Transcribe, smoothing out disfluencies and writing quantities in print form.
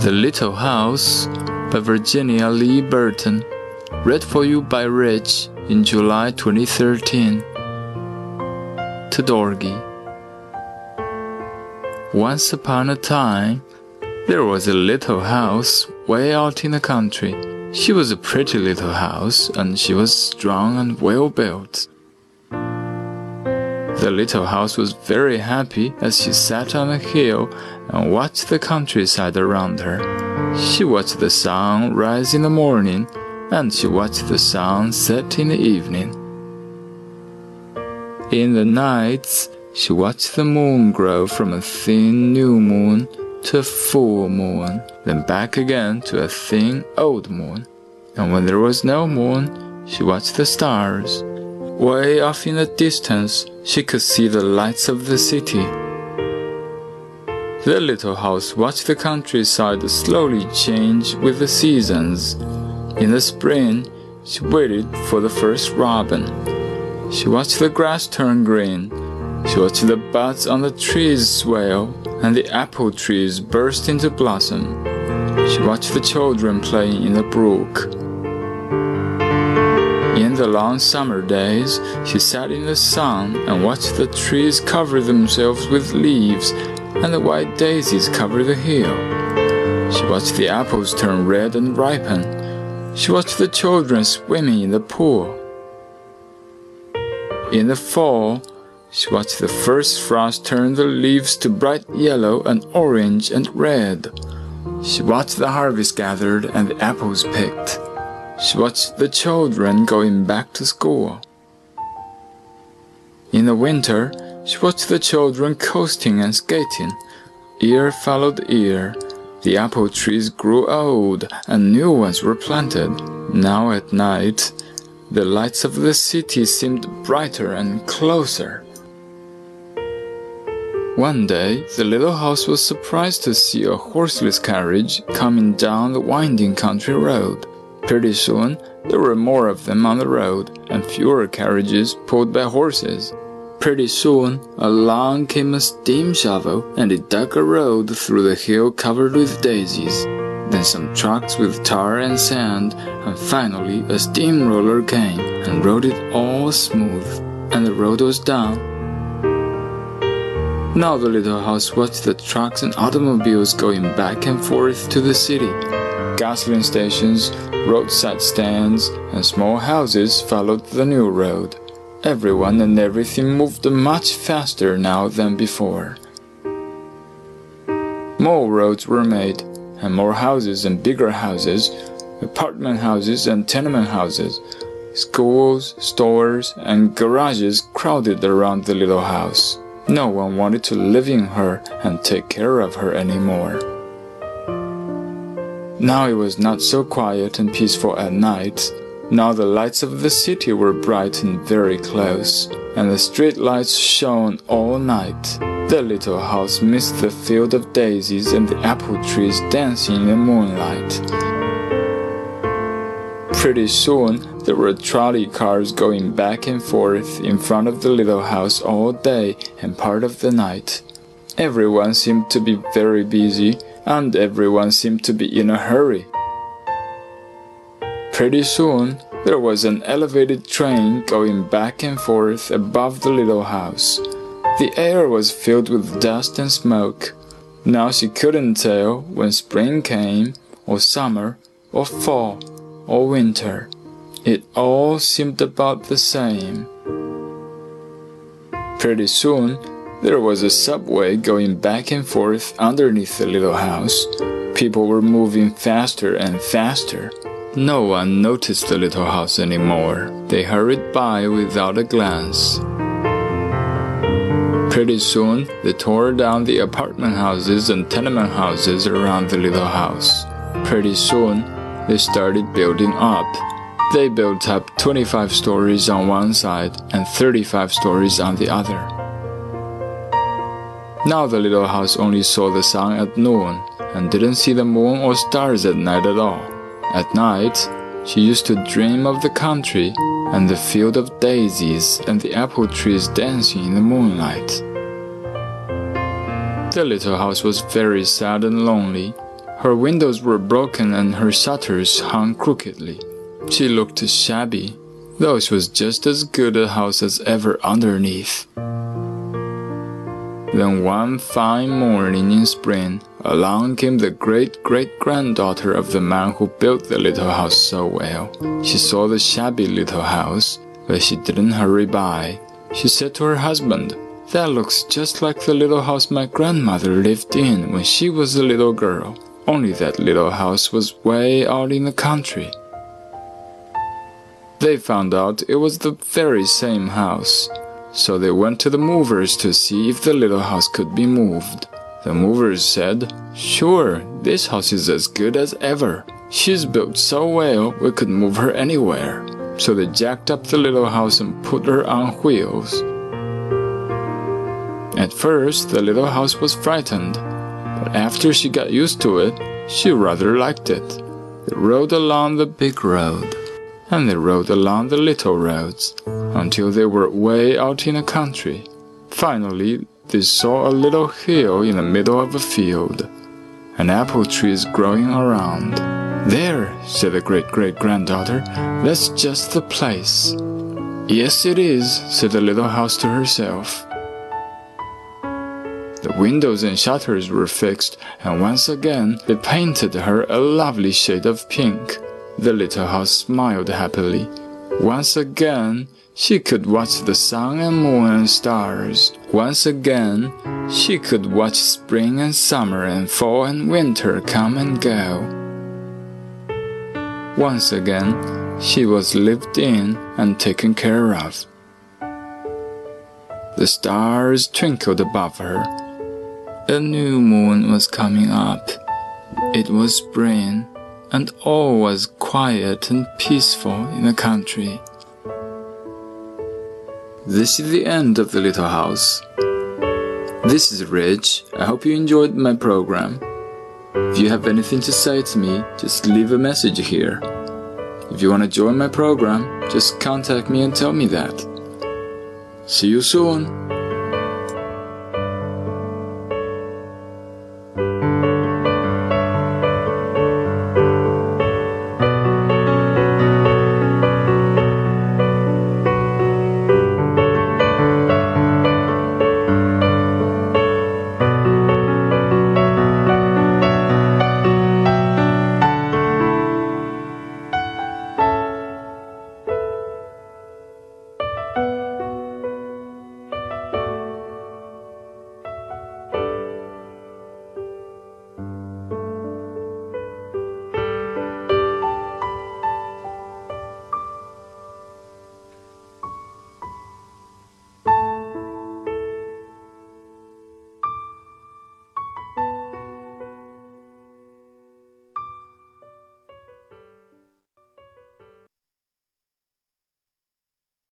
The Little House by Virginia Lee Burton. Read for you by Rich in July 2013. To Dorgy. Once upon a time, there was a little house way out in the country. She was a pretty little house, and she was strong and well built. The little house was very happy as she sat on a hill and watched the countryside around her. She watched the sun rise in the morning, and she watched the sun set in the evening. In the nights, she watched the moon grow from a thin new moon to a full moon, then back again to a thin old moon. And when there was no moon, she watched the stars. Way off in the distance, she could see the lights of the city. The little house watched the countryside slowly change with the seasons. In the spring, she waited for the first robin. She watched the grass turn green. She watched the buds on the trees swell and the apple trees burst into blossom. She watched the children playing in the brook. In the long summer days, she sat in the sun and watched the trees cover themselves with leaves and the white daisies cover the hill. She watched the apples turn red and ripen. She watched the children swimming in the pool. In the fall, she watched the first frost turn the leaves to bright yellow and orange and red. She watched the harvest gathered and the apples picked. She watched the children going back to school. In the winter, she watched the children coasting and skating. Year followed year. The apple trees grew old and new ones were planted. Now at night, the lights of the city seemed brighter and closer. One day, the little house was surprised to see a horseless carriage coming down the winding country road. Pretty soon, there were more of them on the road, and fewer carriages pulled by horses. Pretty soon, along came a steam shovel, and it dug a road through the hill covered with daisies. Then some trucks with tar and sand, and finally a steamroller came and rode it all smooth, and the road was done. Now the little house watched the trucks and automobiles going back and forth to the city. Gasoline stations, roadside stands, and small houses followed the new road. Everyone and everything moved much faster now than before. More roads were made, and more houses and bigger houses, apartment houses and tenement houses. Schools, stores, and garages crowded around the little house. No one wanted to live in her and take care of her anymore. Now it was not so quiet and peaceful at night. Now the lights of the city were bright and very close, and the street lights shone all night. The little house missed the field of daisies and the apple trees dancing in the moonlight. Pretty soon, there were trolley cars going back and forth in front of the little house all day and part of the night. Everyone seemed to be very busy, and everyone seemed to be in a hurry. Pretty soon, there was an elevated train going back and forth above the little house. The air was filled with dust and smoke. Now she couldn't tell when spring came, or summer, or fall, or winter. It all seemed about the same. Pretty soon, there was a subway going back and forth underneath the little house. People were moving faster and faster. No one noticed the little house anymore. They hurried by without a glance. Pretty soon, they tore down the apartment houses and tenement houses around the little house. Pretty soon, they started building up. They built up 25 stories on one side and 35 stories on the other. Now the little house only saw the sun at noon and didn't see the moon or stars at night at all. At night, she used to dream of the country and the field of daisies and the apple trees dancing in the moonlight. The little house was very sad and lonely. Her windows were broken and her shutters hung crookedly. She looked shabby, though she was just as good a house as ever underneath. Then one fine morning in spring, along came the great-great-granddaughter of the man who built the little house so well. She saw the shabby little house, but she didn't hurry by. She said to her husband, "That looks just like the little house my grandmother lived in when she was a little girl, only that little house was way out in the country." They found out it was the very same house, so they went to the movers to see if the little house could be moved. The movers said, "Sure, this house is as good as ever. She's built so well we could move her anywhere." So they jacked up the little house and put her on wheels. At first, the little house was frightened, but after she got used to it, she rather liked it. They rode along the big road, and they rode along the little roads, until they were way out in the country. Finally, they saw a little hill in the middle of a field. An apple tree is growing around. "There," said the great-great-granddaughter, "that's just the place." "Yes, it is," said the little house to herself. The windows and shutters were fixed, and once again they painted her a lovely shade of pink. The little house smiled happily. Once again, she could watch the sun and moon and stars. Once again, she could watch spring and summer and fall and winter come and go. Once again, she was lived in and taken care of. The stars twinkled above her. A new moon was coming up. It was spring, and all was quiet and peaceful in the country. This is the end of the little house. This is Rich. I hope you enjoyed my program. If you have anything to say to me, just leave a message here. If you want to join my program, just contact me and tell me that. See you soon.